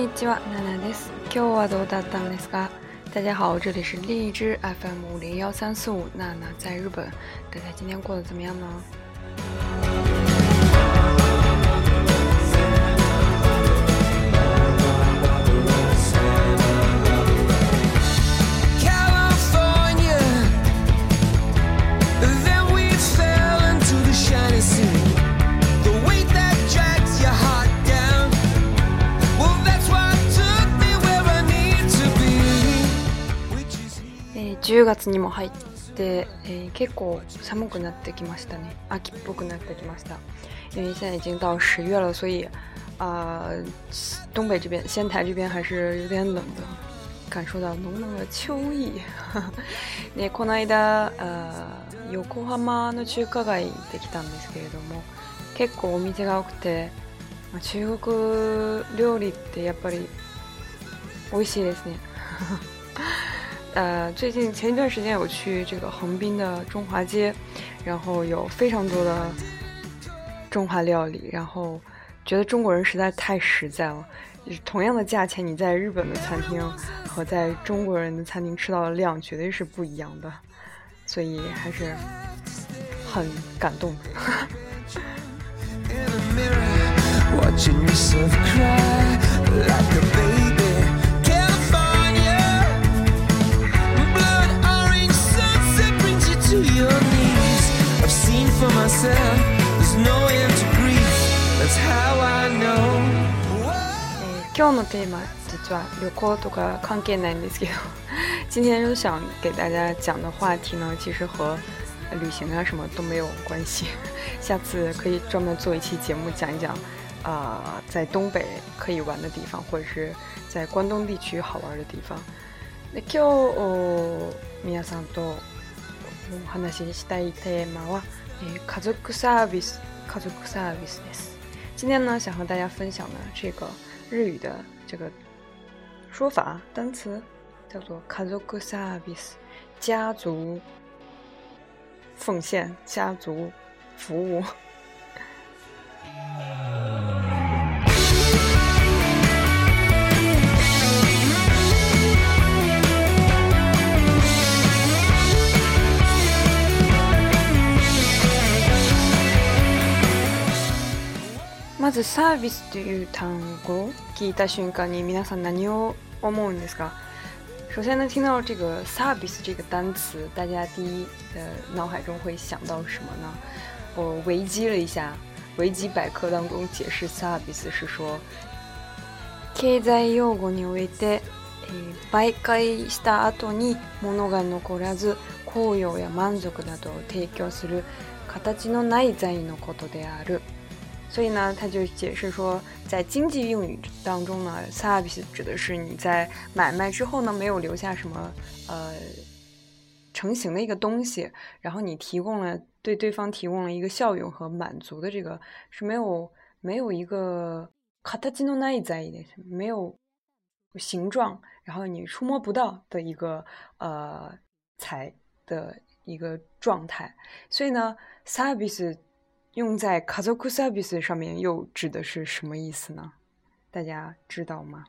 ちは、娜娜です。今日はどうだったんですか？大家好，这里是荔枝 FM501345，娜娜在日本。大家今天过得怎么样呢？10月にも入って、結構寒くなってきましたね。秋っぽくなってきました。因为现在已经到10月了，所以东北这边仙台这边还是有点冷的，感受到浓浓的秋意。でこの間横浜の中華街できたんですけれども、結構お店が多くて、中国料理ってやっぱり美味しいですね。最近前一段时间有去这个横滨的中华街，然后有非常多的中华料理，然后觉得中国人实在太实在了。同样的价钱，你在日本的餐厅和在中国人的餐厅吃到的量绝对是不一样的，所以还是很感动。今日のテーマ実は旅行とか関係ないんですけど，今天想给大家讲的话题呢，其实和旅行啊什么都没有关系。下次可以专门做一期节目讲一讲，在东北可以玩的地方，或者是在关东地区好玩的地方。で今日皆さんとお話ししたいテーマは家族サービスです。今天呢，想和大家分享的这个日语的这个说法单词叫做家族サービス，家族奉献，家族服务。まずサービスという単語を聞いた瞬間に皆さん何を思うんですか？首先呢，听到这个 service 这个单词，大家第一脑海中会想到什么呢？我维基了一下，维基百科当中解释 service 是说，経済用語において、媒介した後に物が残らず効用や満足などを提供する形のない財のことである。所以呢，他就解释说，在经济用语当中呢 ，service 指的是你在买卖之后呢，没有留下什么成型的一个东西，然后你对对方提供了一个效用和满足的这个是没有一个形のない財的，没有形状，然后你触摸不到的一个财的一个状态。所以呢 ，service。用在家族サービス上面又指的是什么意思呢？大家知道吗？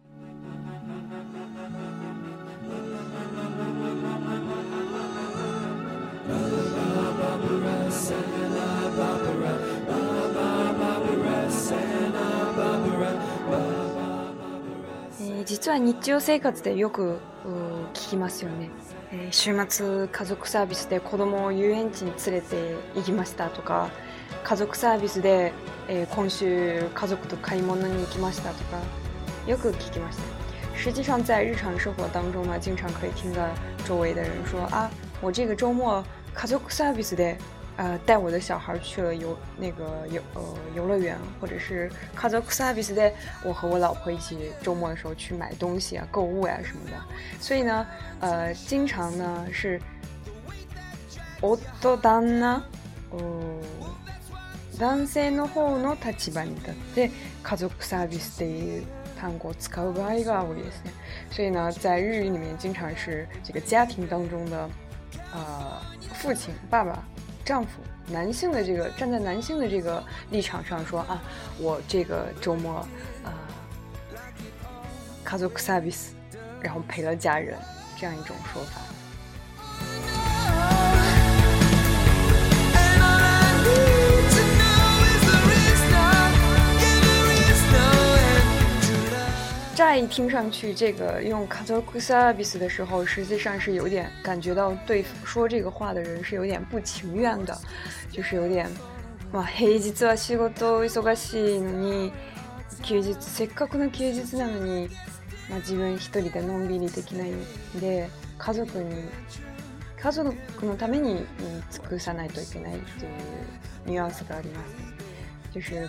実は日常生活でよく聞きますよね。週末家族サービスで子供を遊園地に連れて行きましたとか、家族サービスで、今週家族と買い物に行きましたとかよく聞きました。实际上在日常生活当中呢，经常可以听到周围的人说啊，我这个周末家族サービスで带我的小孩去了游乐园，或者是家族サービスで我和我老婆一起周末的时候去买东西啊、购物呀、什么的。所以呢，经常呢是夫旦那男性の方の立場に立って家族サービスっていう単語を使う場合が多いですね。所以呢，在日语里面经常是这个家庭当中的父亲、爸爸、丈夫，男性的这个站在男性的这个立场上说啊，我这个周末家族 service， 然后陪了家人这样一种说法。乍一听上去，这个用家族 service 的时候，实际上是有点感觉到对说这个话的人是有点不情愿的，就是有点平日は仕事忙しいのにせっかくの休日なのに、自分一人でのんびりできないんで家族のために尽くさないといけないというニュアンスがあります。就是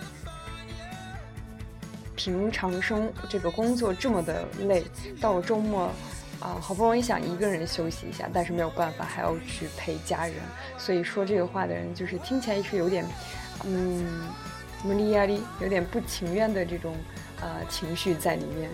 平常这个工作这么的累，到了周末好不容易想一个人休息一下，但是没有办法，还要去陪家人，所以说这个话的人就是听起来是有点無理やり有点不情愿的这种情绪在里面。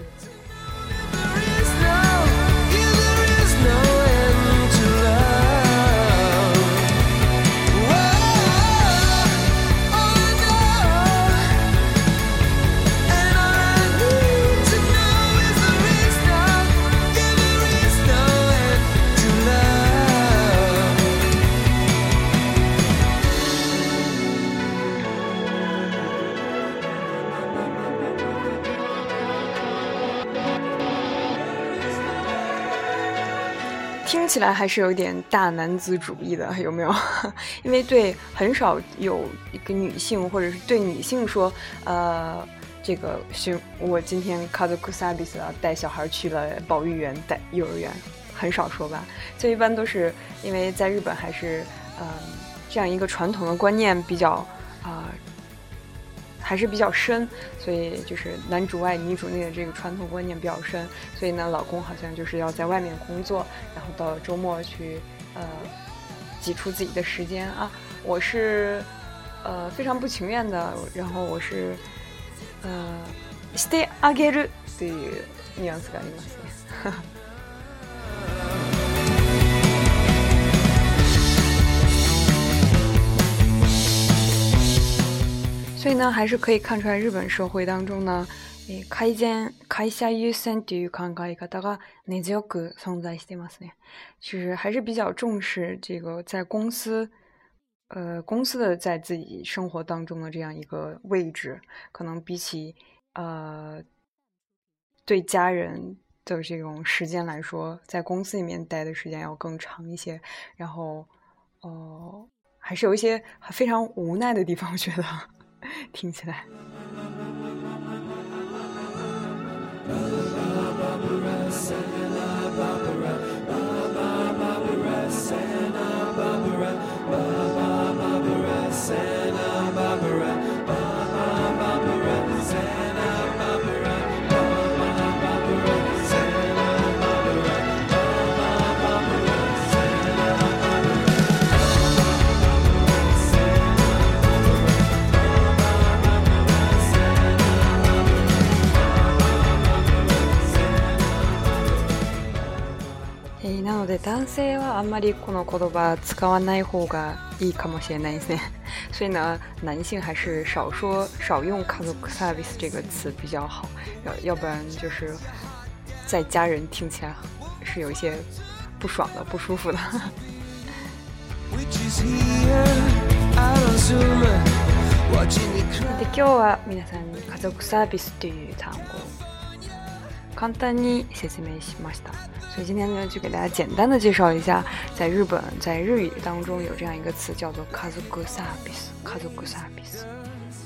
听起来还是有点大男子主义的，有没有？因为很少有一个女性或者是对女性说，这个我今天家族 service 带小孩去了保育园、带幼儿园，很少说吧。这一般都是因为在日本还是这样一个传统的观念比较还是比较深，所以就是男主外女主内的这个传统观念比较深，所以呢，老公好像就是要在外面工作，然后到了周末去挤出自己的时间啊。我是非常不情愿的，然后我是してあげるというニュアンスがありますね。所以呢，还是可以看出来日本社会当中呢，会社優先という考え方が根強く存在してますね。就是还是比较重视这个在公司的在自己生活当中的这样一个位置，可能比起对家人的这种时间来说，在公司里面待的时间要更长一些。然后还是有一些非常无奈的地方，我觉得。听起来。なので男性はあんまりこの言葉使わない方がいいかもしれないですね。所以呢，男性还是少用家族 service 这个词比较好，要不然就是在家人听起来是有一些不爽的、不舒服的。で今日は皆さんに家族サービスという単語を簡単に説明しました。所以今天呢，就给大家简单的介绍一下，在日本在日语当中有这样一个词叫做家族サービス。家族サービス。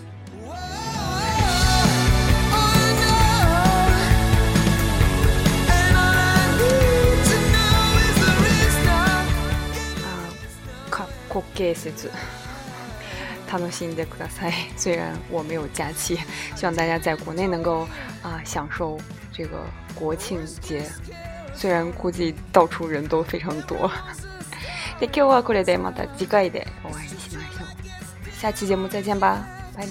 国慶節楽しんでください。虽然我没有假期，希望大家在国内能够享受这个国庆节。虽然估计到处人都非常多。で今日はこれでまた次回でお会いしましょう。下期节目再见吧，拜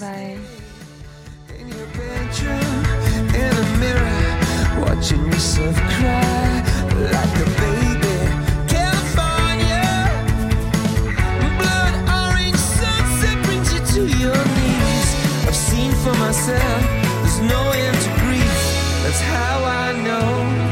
拜。For myself, there's no end to grief. Let's how I know